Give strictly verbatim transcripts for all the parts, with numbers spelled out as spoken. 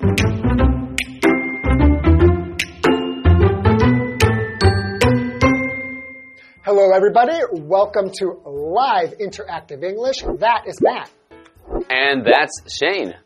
Hello, everybody. Welcome to Live Interactive English. That is Matt. And that's Shane.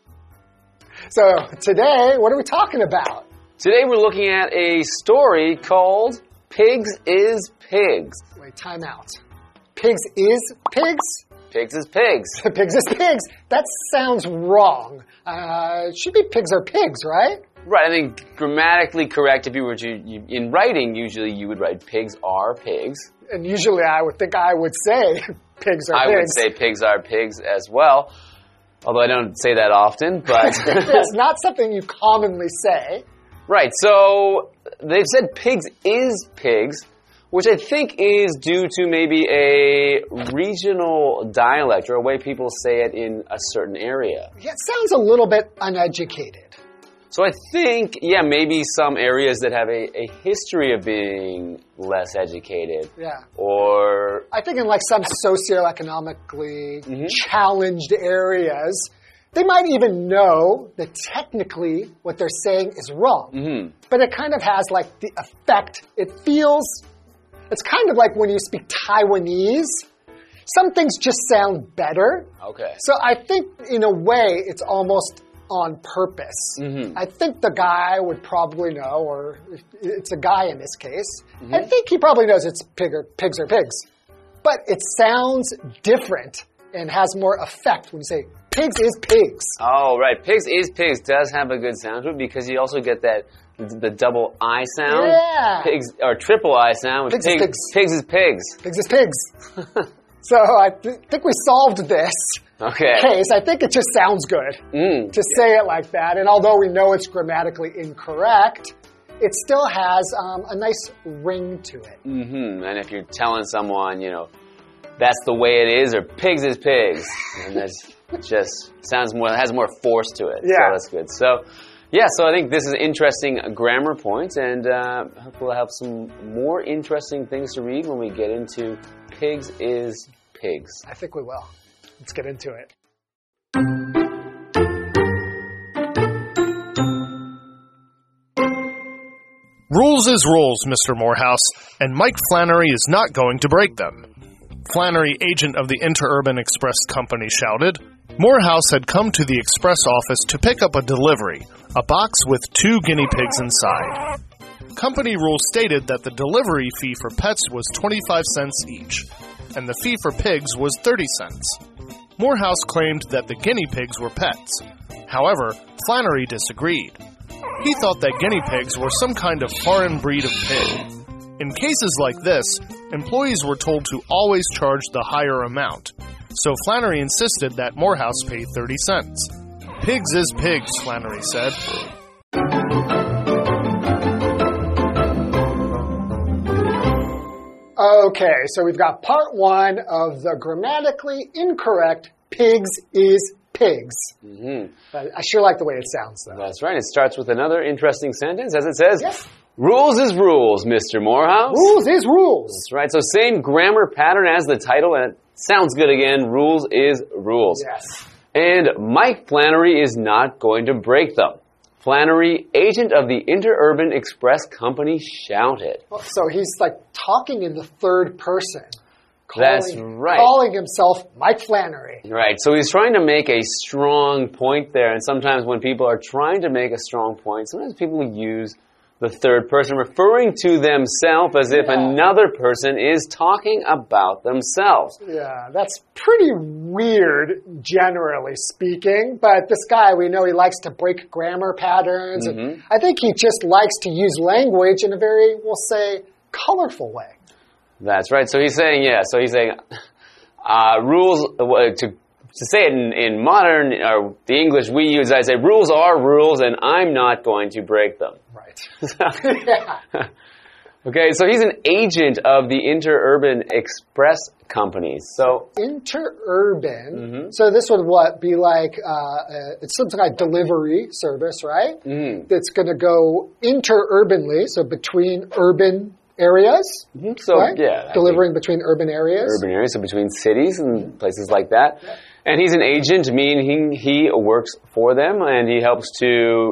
So today, what are we talking about? Today we're looking at a story called Pigs is Pigs. Wait, time out. Pigs is pigs? Pigs is pigs. Pigs is pigs. That sounds wrong. Uh, it should be pigs are pigs, right? Right, I think grammatically correct if you were to, you, in writing, usually you would write pigs are pigs. And usually I would think I would say pigs are I pigs. I would say pigs are pigs as well, although I don't say that often, but... It's not something you commonly say. Right, so they've said pigs is pigs, which I think is due to maybe a regional dialect or a way people say it in a certain area. Yeah, it sounds a little bit uneducated. So I think, yeah, maybe some areas that have a, a history of being less educated. Yeah. Or... I think in like some socioeconomically mm-hmm. challenged areas, they might even know that technically what they're saying is wrong. Mm-hmm. But it kind of has like the effect. It feels, it's kind of like when you speak Taiwanese. Some things just sound better. Okay. So I think in a way it's almost on purpose. Mm-hmm. I think the guy would probably know, or it's a guy in this case, mm-hmm. I think he probably knows it's pig or, pigs are pigs. But it sounds different and has more effect when you say pigs is pigs. Oh, right. Pigs is pigs does have a good sound to it because you also get that, the double I sound. Yeah. Pigs, or triple I sound. Which Pigs pig, is pigs. Pigs is pigs. Pigs is pigs. So I th think we solved this. Okay. Case. I think it just sounds good mm. to say it like that. And although we know it's grammatically incorrect, it still has um, a nice ring to it. Mm-hmm. And if you're telling someone, you know, that's the way it is, or pigs is pigs, and that's just sounds more, has more force to it. Yeah. So that's good. So, yeah, so I think this is interesting grammar points, and uh, hopefully we'll have some more interesting things to read when we get into pigs is pigs. I think we will. Let's get into it. Rules is rules, Mister Morehouse, and Mike Flannery is not going to break them. Flannery, agent of the Interurban Express Company, shouted. Morehouse had come to the express office to pick up a delivery, a box with two guinea pigs inside. Company rules stated that the delivery fee for pets was twenty-five cents each, and the fee for pigs was thirty cents. Morehouse claimed that the guinea pigs were pets. However, Flannery disagreed. He thought that guinea pigs were some kind of foreign breed of pig. In cases like this, employees were told to always charge the higher amount, so Flannery insisted that Morehouse pay thirty cents. Pigs is pigs, Flannery said. Okay, so we've got part one of the grammatically incorrect pigs is pigs. Mm-hmm. But I sure like the way it sounds, though. That's right. It starts with another interesting sentence, as it says, yes. Rules is rules, Mister Morehouse. Rules is rules. That's right. So same grammar pattern as the title, and it sounds good again. Rules is rules. Yes. And Mike Flannery is not going to break them. Flannery, agent of the Interurban Express Company, shouted. So he's like talking in the third person. Calling, That's right. Calling himself Mike Flannery. Right. So he's trying to make a strong point there. And sometimes when people are trying to make a strong point, sometimes people use the third person, referring to themselves as if yeah. another person is talking about themselves. Yeah, that's pretty weird, generally speaking. But this guy, we know he likes to break grammar patterns. Mm-hmm. And I think he just likes to use language in a very, we'll say, colorful way. That's right. So he's saying, yeah, so he's saying uh, rules, uh, to To say it in, in modern, or the English we use, I say rules are rules and I'm not going to break them. Right. yeah. Okay, so he's an agent of the Interurban Express Company. So Interurban, mm-hmm. so this would what be like, uh, uh, it's something like delivery service, right? Mm. That's going to go interurbanly, so between urban areas. Mm-hmm. So, right? yeah. Delivering between urban areas. Urban areas, so between cities and places like that. Yeah. And he's an agent, meaning he works for them, and he helps to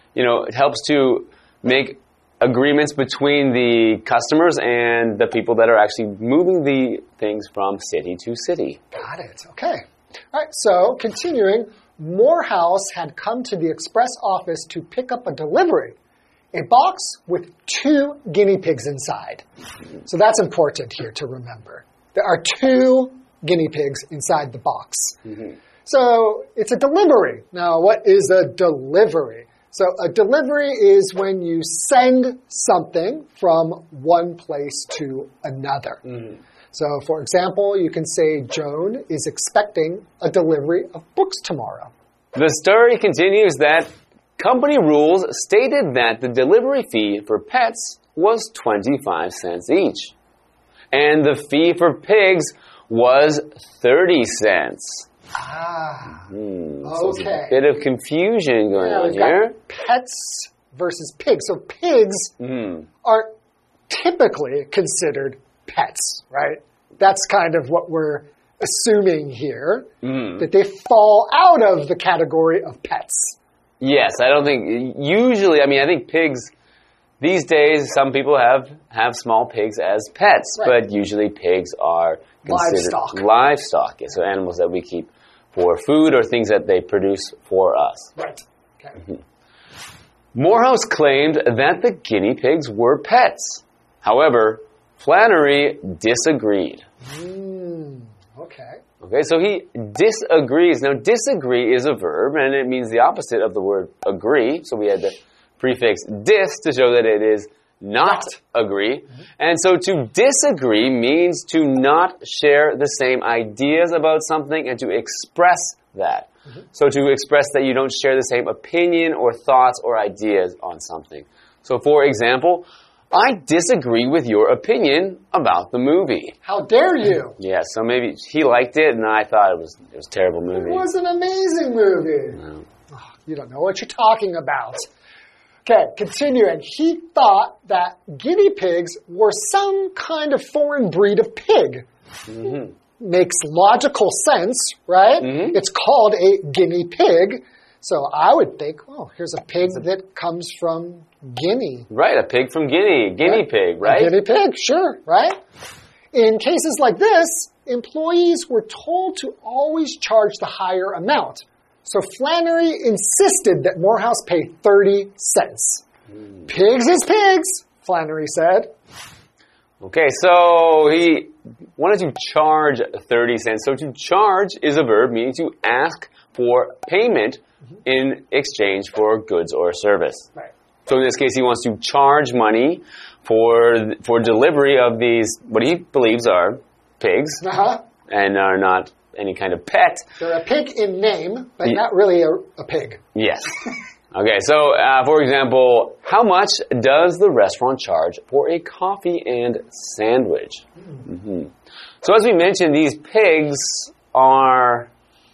you know, it helps to make agreements between the customers and the people that are actually moving the things from city to city. Got it. Okay. All right. So continuing, Morehouse had come to the express office to pick up a delivery, a box with two guinea pigs inside. So that's important here to remember. There are two guinea pigs inside the box. Mm-hmm. So it's a delivery. Now, what is a delivery? So a delivery is when you send something from one place to another. Mm-hmm. So, for example, you can say Joan is expecting a delivery of books tomorrow. The story continues that company rules stated that the delivery fee for pets was twenty-five cents each. And the fee for pigs was thirty cents. Ah, mm, okay. So there's a bit of confusion going yeah, on we've here. Got pets versus pigs. So pigs mm. are typically considered pets, right? That's kind of what we're assuming here, mm. that they fall out of the category of pets. Yes, I don't think, usually, I mean, I think pigs, these days, some people have, have small pigs as pets, right. But usually pigs are considered livestock. Livestock, yeah, so animals that we keep for food or things that they produce for us. Right. Okay. Mm-hmm. Morehouse claimed that the guinea pigs were pets. However, Flannery disagreed. Mm, okay. Okay, so he disagrees. Now, disagree is a verb, and it means the opposite of the word agree. So we had the prefix dis to show that it is not agree. Mm-hmm. And so to disagree means to not share the same ideas about something and to express that. Mm-hmm. So to express that you don't share the same opinion or thoughts or ideas on something. So for example, I disagree with your opinion about the movie. How dare you? Yeah, so maybe he liked it and I thought it was it was a terrible movie. It was an amazing movie. No. Oh, you don't know what you're talking about. Okay, continuing. He thought that guinea pigs were some kind of foreign breed of pig. Mm-hmm. Makes logical sense, right? Mm-hmm. It's called a guinea pig. So I would think, oh, here's a pig that comes from Guinea. Right, a pig from Guinea. Guinea right? pig, right? A guinea pig, sure, right? In cases like this, employees were told to always charge the higher amount. So Flannery insisted that Morehouse pay thirty cents. Mm. Pigs is pigs, Flannery said. Okay, so he wanted to charge thirty cents. So to charge is a verb meaning to ask for payment in exchange for goods or service. Right. So in this case, he wants to charge money for for delivery of these, what he believes are pigs, uh-huh. and are not any kind of pet. They're a pig in name, but yeah. not really a, a pig. Yes. Okay, so uh, for example, how much does the restaurant charge for a coffee and sandwich? Mm. Mm-hmm. So as we mentioned, these pigs are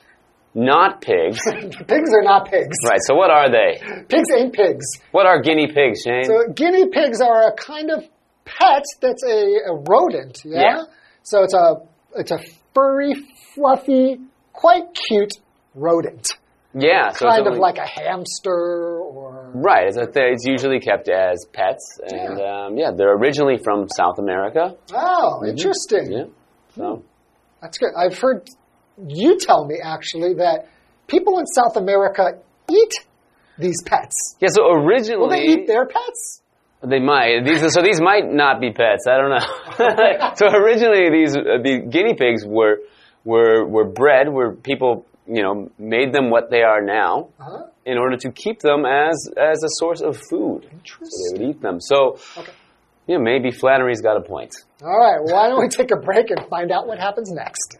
not pigs. Pigs are not pigs. Right, so what are they? Pigs ain't pigs. What are guinea pigs, Shane? So guinea pigs are a kind of pet that's a, a rodent, yeah? yeah? So it's a it's a furry, fluffy, quite cute rodent. Yeah. So kind it's of like a hamster or... Right, it's, a th it's usually kept as pets. And yeah. Um, yeah, they're originally from South America. Oh, mm-hmm. interesting. Yeah, so... That's good. I've heard... You tell me, actually, that people in South America eat these pets. Yeah, so originally... Will they eat their pets? They might. These, so these might not be pets. I don't know. So originally, these uh, the guinea pigs were were were bred, where people, you know, made them what they are now, uh-huh. in order to keep them as as a source of food. Interesting. So they would eat them. So, okay. yeah, maybe Flannery's got a point. All right. Well, why don't we take a break and find out what happens next?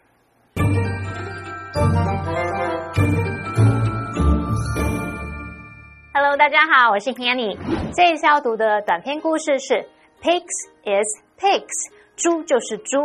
Hello， 大家好，我是 Kenny。这一次要讀的短篇故事是 Pigs is Pigs， 豬就是豬。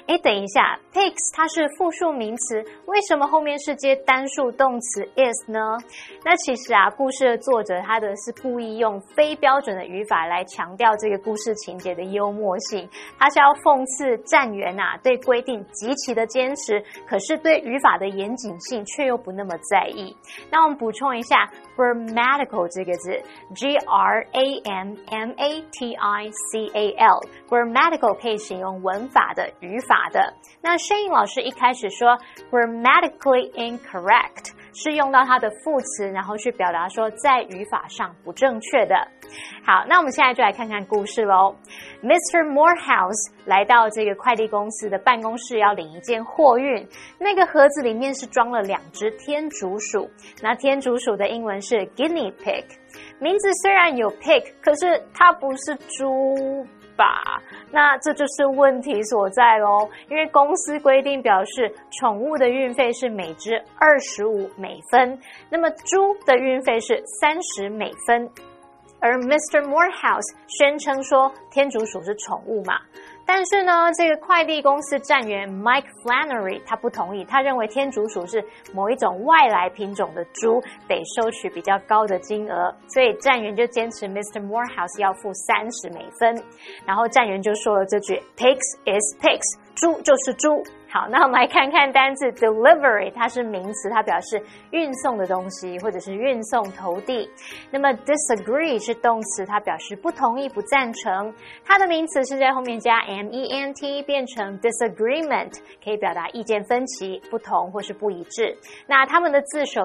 誒，等一下 pigs 它是複數名詞，為什麼後面是接單數動詞 is 呢？那其實啊，故事的作者他的是故意用非標準的語法來強調這個故事情節的幽默性，他是要諷刺站員啊對規定極其的堅持，可是對語法的嚴謹性卻又不那麼在意。那我們補充一下 grammatical 這個字 G R A M M A T I C A L grammatical 可以形容文法的語法的。那聲穎老師一開始說 grammatically incorrect 是用到它的副詞，然後去表達說在語法上不正確的。好，那我們現在就來看看故事咯。Mister Morehouse 來到這個快遞公司的辦公室要領一件貨運，那個盒子裡面是裝了兩隻天竺鼠，那天竺鼠的英文是 guinea pig， 名字雖然有 pig， 可是它不是豬吧？那這就是問題所在咯，因為公司規定表示寵物的運費是每隻二十五美分，那麼豬的運費是三十美分。而 Mister Morehouse 宣稱說天竺鼠是寵物嘛，但是呢，這個快遞公司站員 Mike Flannery 他不同意，他認為天竺鼠是某一種外來品種的豬，得收取比較高的金額，所以站員就堅持 Mister Morehouse 要付三十美分，然後站員就說了這句 Pigs is pigs， 豬就是豬。好，那我們來看看單字 delivery， 它是名詞，它表示運送的東西或者是運送投遞。那麼 disagree 是動詞，它表示不同意、不贊成。它的名詞是在後面加 ment 變成 disagreement， 可以表達意見分歧、不同或是不一致。那它們的字首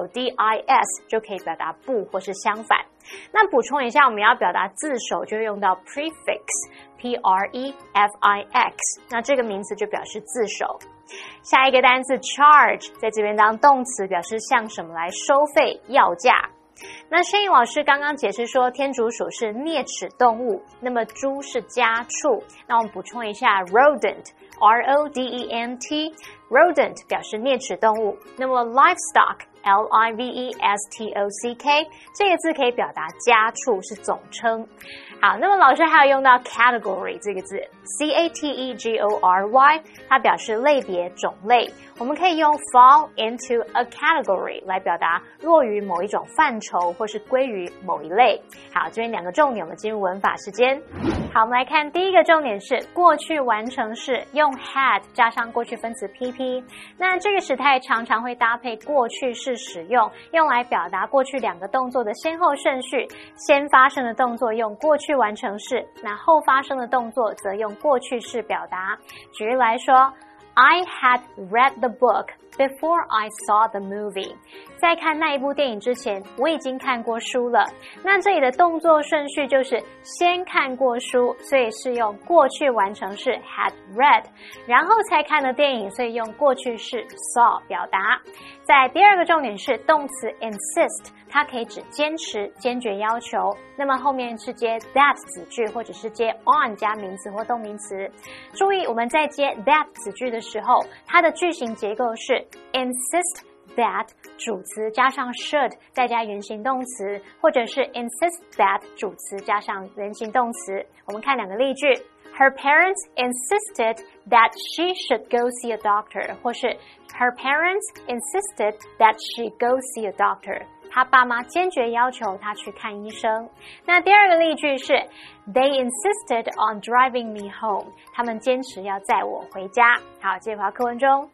dis 就可以表達不或是相反。那補充一下，我們要表達字首就用到 prefix P R E F I X， 那這個名詞就表示字首。下一個單字 charge 在這邊當動詞，表示向什麼來收費要價。那聲穎老師剛剛解釋說天竺鼠是齧齒動物，那麼豬是家畜。那我們補充一下 rodent R O D E N T rodent 表示齧齒動物，那麼 livestock L I V E S T O C K 這個字可以表達家畜，是總稱。好，那麼老師還有用到 category 這個字 C A T E G O R Y， 它表示類別、種類。我們可以用 fall into a category 來表達落於某一種範疇或是歸於某一類。好，這邊兩個重點，我們進入文法時間。好，我們來看第一個重點是過去完成式，用 had 加上過去分詞 P P。那這個時態常常會搭配過去式使用，用來表達過去兩個動作的先後順序。先發生的動作用過去完成式，那後發生的動作則用過去式表達。舉例來說， I had read the book before I saw the movie。 在看那一部電影之前，我已經看過書了。那這裡的動作順序就是先看過書，所以是用過去完成式 had read， 然後才看的電影，所以用過去式 saw 表達。在第二個重點是動詞 insist， 它可以指堅持、堅決要求。那麼後面是接 that 子句，或者是接 on 加名詞或動名詞。注意我們在接 that 子句的時候，它的句型結構是 insist that 主詞加上 should 再加原形動詞，或者是 insist that 主詞加上原形動詞。我們看兩個例句， Her parents insisted that she should go see a doctor， 或是 Her parents insisted that she go see a doctor。 他爸媽堅決要求他去看醫生。那第二個例句是 They insisted on driving me home， 他們堅持要載我回家。好，接回到課文中。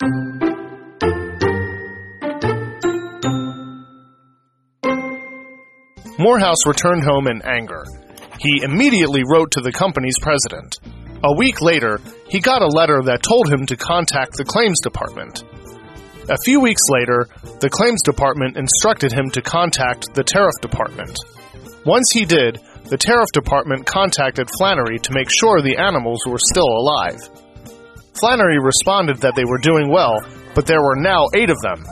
Morehouse returned home in anger. He immediately wrote to the company's president. A week later, he got a letter that told him to contact the claims department. A few weeks later, the claims department instructed him to contact the tariff department. Once he did, the tariff department contacted Flannery to make sure the animals were still alive. Flannery responded that they were doing well, but there were now eight of them.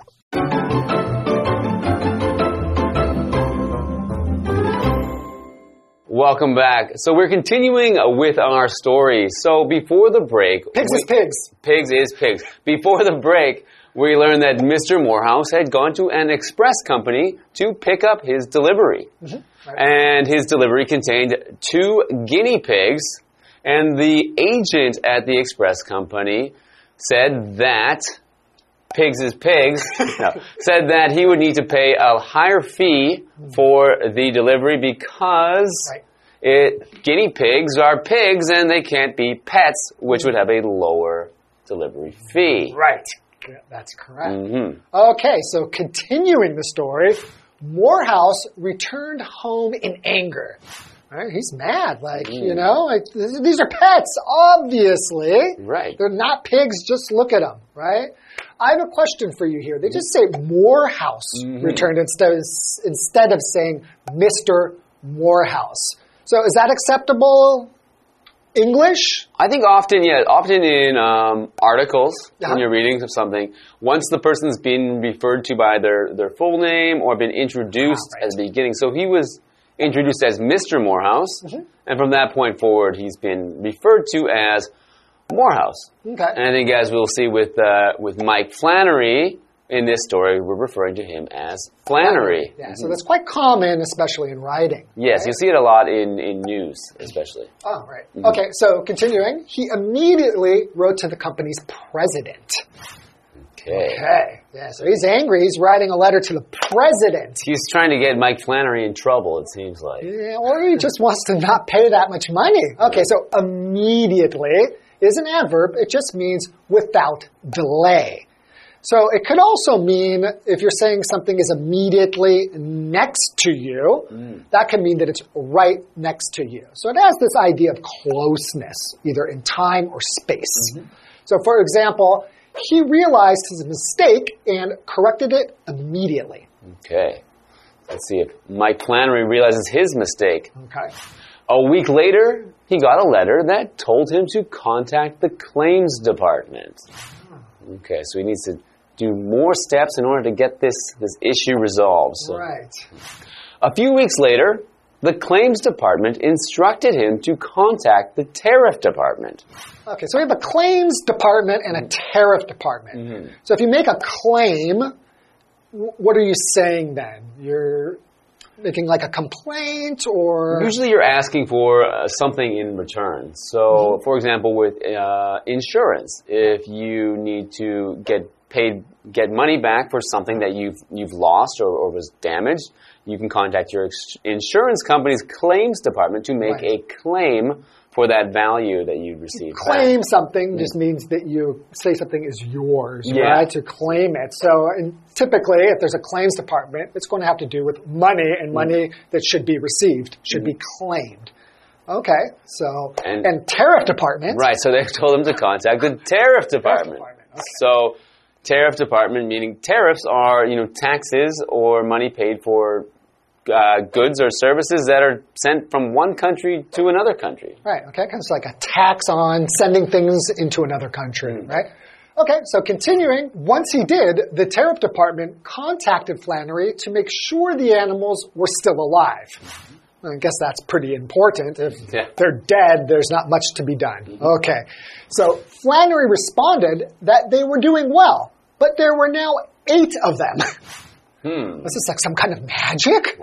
Welcome back. So we're continuing with our story. So before the break... Pigs we, is pigs. Pigs is pigs. Before the break, we learned that Mister Morehouse had gone to an express company to pick up his delivery. Mm-hmm. Right. And his delivery contained two guinea pigs. And the agent at the express company said that pigs is pigs, no, said that he would need to pay a higher fee for the delivery because Right. it, guinea pigs are pigs and they can't be pets, which would have a lower delivery fee. Right. Yeah, that's correct. Mm-hmm. Okay, so continuing the story, Morehouse returned home in anger. Right? He's mad, like, Mm. you know, like, th- these are pets, obviously. Right. They're not pigs, just look at them, right? I have a question for you here. They just say Morehouse Mm-hmm. returned instead of, instead of saying Mister Morehouse. So is that acceptable English? I think often, yeah, often in um, articles, Uh-huh. when you're reading of something, once the person's been referred to by their, their full name or been introduced Ah, right. at the beginning. So he was introduced as Mister Morehouse, Mm-hmm. and from that point forward, he's been referred to as Morehouse. Okay. And I think, as we'll see with uh, with Mike Flannery in this story, we're referring to him as Flannery. Yeah, so that's quite common, especially in writing. Yes, right? you see it a lot in, in news, especially. Oh, right. Okay, so continuing, he immediately wrote to the company's president. Okay. Okay, yeah, so he's angry. He's writing a letter to the president. He's trying to get Mike Flannery in trouble, it seems like. Yeah, or he just wants to not pay that much money. Okay, so immediately is an adverb. It just means without delay. So it could also mean if you're saying something is immediately next to you, Mm. that can mean that it's right next to you. So it has this idea of closeness, either in time or space. Mm-hmm. So for example, he realized his mistake and corrected it immediately. Okay. Let's see if Mike Flannery realizes his mistake. Okay. A week later, he got a letter that told him to contact the claims department. Okay, so he needs to do more steps in order to get this, this issue resolved. So Right. a few weeks later, the claims department instructed him to contact the tariff department. Okay, so we have a claims department and a tariff department. Mm-hmm. So if you make a claim, wh- what are you saying then? You're making like a complaint or... Usually you're asking for uh, something in return. So, for example, with uh, insurance, if you need to get paid, get money back for something that you've you've lost or, or was damaged, you can contact your ex- insurance company's claims department to make Right. a claim for that value that you received Claim back. something just means that you say something is yours, Yeah. right? To claim it. So and typically, if there's a claims department, it's going to have to do with money, and money that should be received should be claimed. Okay, so And- and, tariff department. Right, so they told him to contact the tariff department. department, okay. So, tariff department meaning tariffs are, you know, taxes or money paid for uh, goods or services that are sent from one country to another country. Right, okay, because it's like a tax on sending things into another country, right? Okay, so continuing, once he did, the tariff department contacted Flannery to make sure the animals were still alive. I guess that's pretty important. If Yeah. they're dead, there's not much to be done. Okay, so Flannery responded that they were doing well, but there were now eight of them. Hmm. This is like some kind of magic?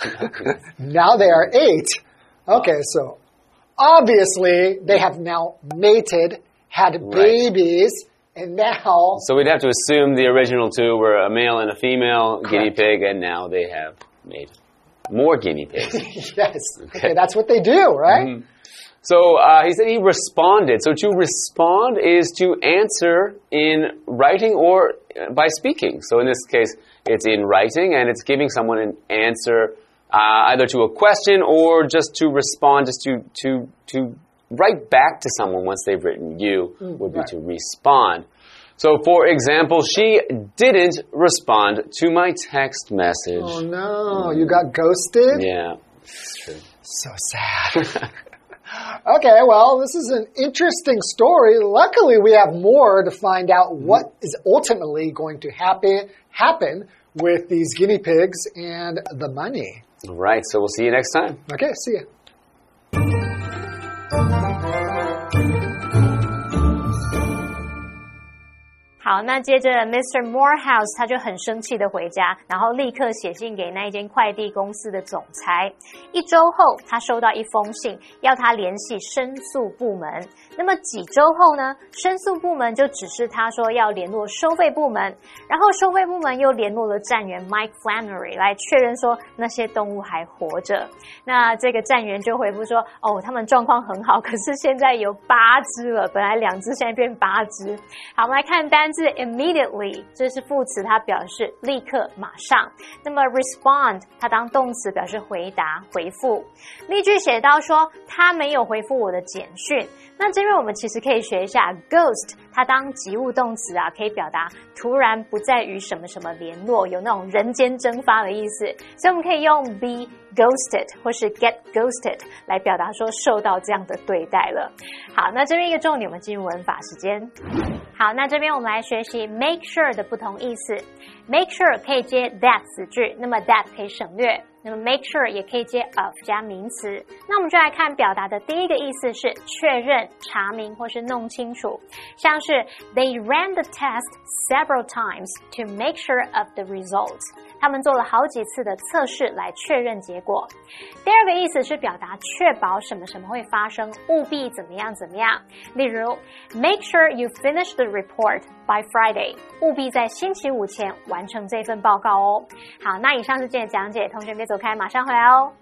Now they are eight. Okay, so obviously they have now mated, had Right. babies, and now... So we'd have to assume the original two were a male and a female guinea Correct. pig, and now they have made more guinea pigs. Yes, okay, that's what they do, right? Mhm. So uh, he said he responded. So to respond is to answer in writing or uh, by speaking. So in this case, it's in writing, and it's giving someone an answer uh, either to a question or just to respond, just to to to write back to someone once they've written you would be right. to respond. So, for example, she didn't respond to my text message. Oh no, you got ghosted? Yeah, that's true. So sad. Okay, well, this is an interesting story. Luckily, we have more to find out what is ultimately going to happen happen with these guinea pigs and the money. All right, so we'll see you next time. Okay, see ya. 好，那接着 Mister Morehouse 他就很生气的回家，然後立刻寫信給那一間快遞公司的總裁。一周後，他收到一封信，要他聯繫申訴部門。那麼幾周後呢，申訴部門就指示他說要聯絡收費部門，然後收費部門又聯絡了站員 Mike Flannery 來確認說那些動物還活着。那這個站員就回復說，哦，他們狀況很好，可是現在有八隻了，本來兩隻，現在變八隻。好，我們來看單字 immediately， 這是副詞，它表示立刻、馬上。那麼 respond， 它當動詞表示回答、回復。例句寫到說，他沒有回復我的簡訊。那這邊我們其實可以學一下 ghost， 它當及物動詞啊，可以表達突然不再與什麼什麼聯絡，有那種人間蒸發的意思。所以我們可以用 be ghosted 或是 get ghosted 來表達說受到這樣的對待了。好，那這邊一個重點，我們進入文法時間。好，那這邊我們來學習 make sure 的不同意思。make sure 可以接 that 子句，那麼 that 可以省略。那麼 make sure 也可以接 of 加名詞。那我們就來看表達的第一個意思是確認、查明或是弄清楚，像是 They ran the test several times to make sure of the results。他們做了好幾次的測試來確認結果。第二個意思是表達確保什麼什麼會發生，務必怎麼樣怎麼樣。例如 Make sure you finish the report by Friday。務必在星期五前完成這份報告哦。好，那以上是今天的講解，同學別走開，馬上回來哦。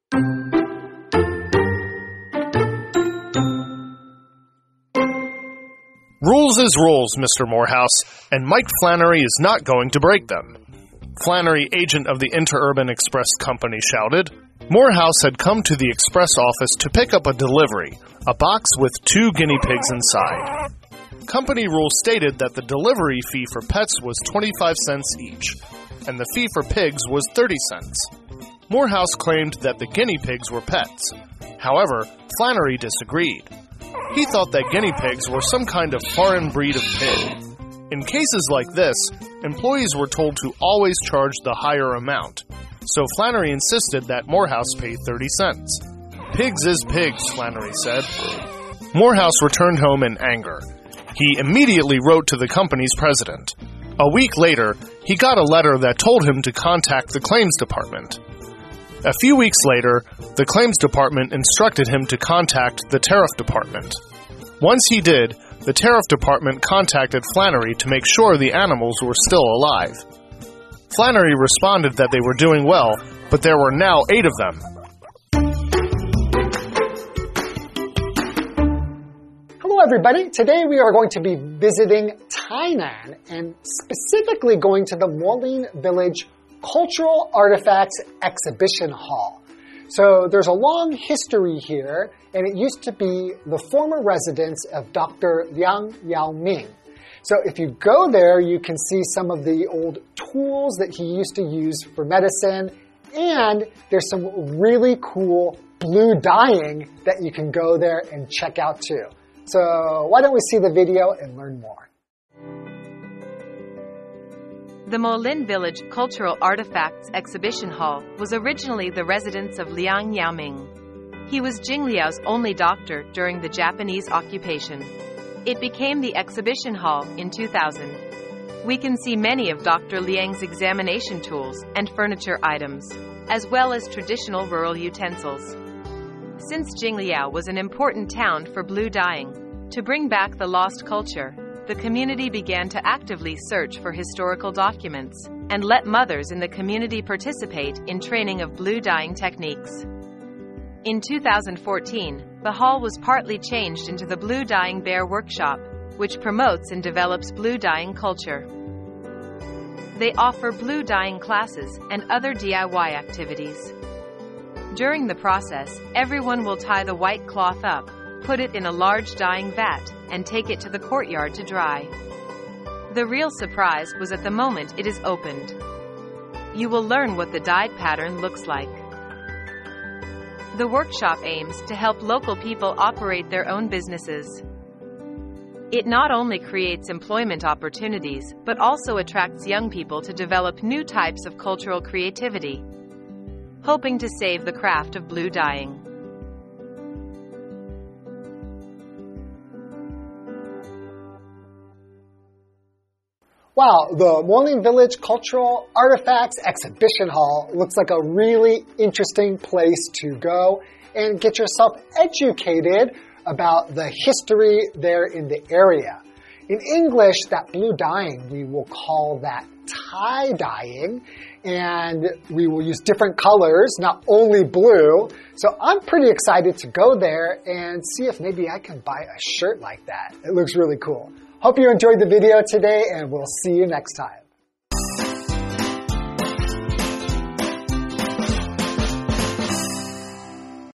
Rules is rules, Mister Morehouse, and Mike Flannery is not going to break them. Flannery, agent of the Interurban Express Company, shouted. Morehouse had come to the express office to pick up a delivery, a box with two guinea pigs inside. Company rules stated that the delivery fee for pets was twenty-five cents each, and the fee for pigs was thirty cents. Morehouse claimed that the guinea pigs were pets. However, Flannery disagreed. He thought that guinea pigs were some kind of foreign breed of pig. In cases like this, employees were told to always charge the higher amount, so Flannery insisted that Morehouse pay thirty cents. Pigs is pigs, Flannery said. Morehouse returned home in anger. He immediately wrote to the company's president. A week later, he got a letter that told him to contact the claims department. A few weeks later, the claims department instructed him to contact the tariff department. Once he did, the tariff department contacted Flannery to make sure the animals were still alive. Flannery responded that they were doing well, but there were now eight of them. Hello everybody, today we are going to be visiting Tainan and specifically going to the Moline Village Cultural Artifacts Exhibition Hall. So there's a long history here, and it used to be the former residence of Doctor Liang Yaoming. So if you go there, you can see some of the old tools that he used to use for medicine, and there's some really cool blue dyeing that you can go there and check out too. So why don't we see the video and learn more? The Moline Village Cultural Artifacts Exhibition Hall was originally the residence of Liang Yaoming. He was Jingliao's only doctor during the Japanese occupation. It became the exhibition hall in two thousand. We can see many of Doctor Liang's examination tools and furniture items, as well as traditional rural utensils. Since Jingliao was an important town for blue dyeing, to bring back the lost culture, the community began to actively search for historical documents and let mothers in the community participate in training of blue dyeing techniques. In two thousand fourteen, the hall was partly changed into the Blue Dyeing Bear Workshop, which promotes and develops blue dyeing culture. They offer blue dyeing classes and other D I Y activities. During the process, everyone will tie the white cloth up, put it in a large dyeing vat, and take it to the courtyard to dry. The real surprise was at the moment it is opened. You will learn what the dyed pattern looks like. The workshop aims to help local people operate their own businesses. It not only creates employment opportunities, but also attracts young people to develop new types of cultural creativity, hoping to save the craft of blue dyeing. Wow, the Moreland Village Cultural Artifacts Exhibition Hall looks like a really interesting place to go and get yourself educated about the history there in the area. In English, that blue dyeing, we will call that tie-dyeing, and we will use different colors, not only blue. So I'm pretty excited to go there and see if maybe I can buy a shirt like that. It looks really cool. Hope you enjoyed the video today, and we'll see you next time.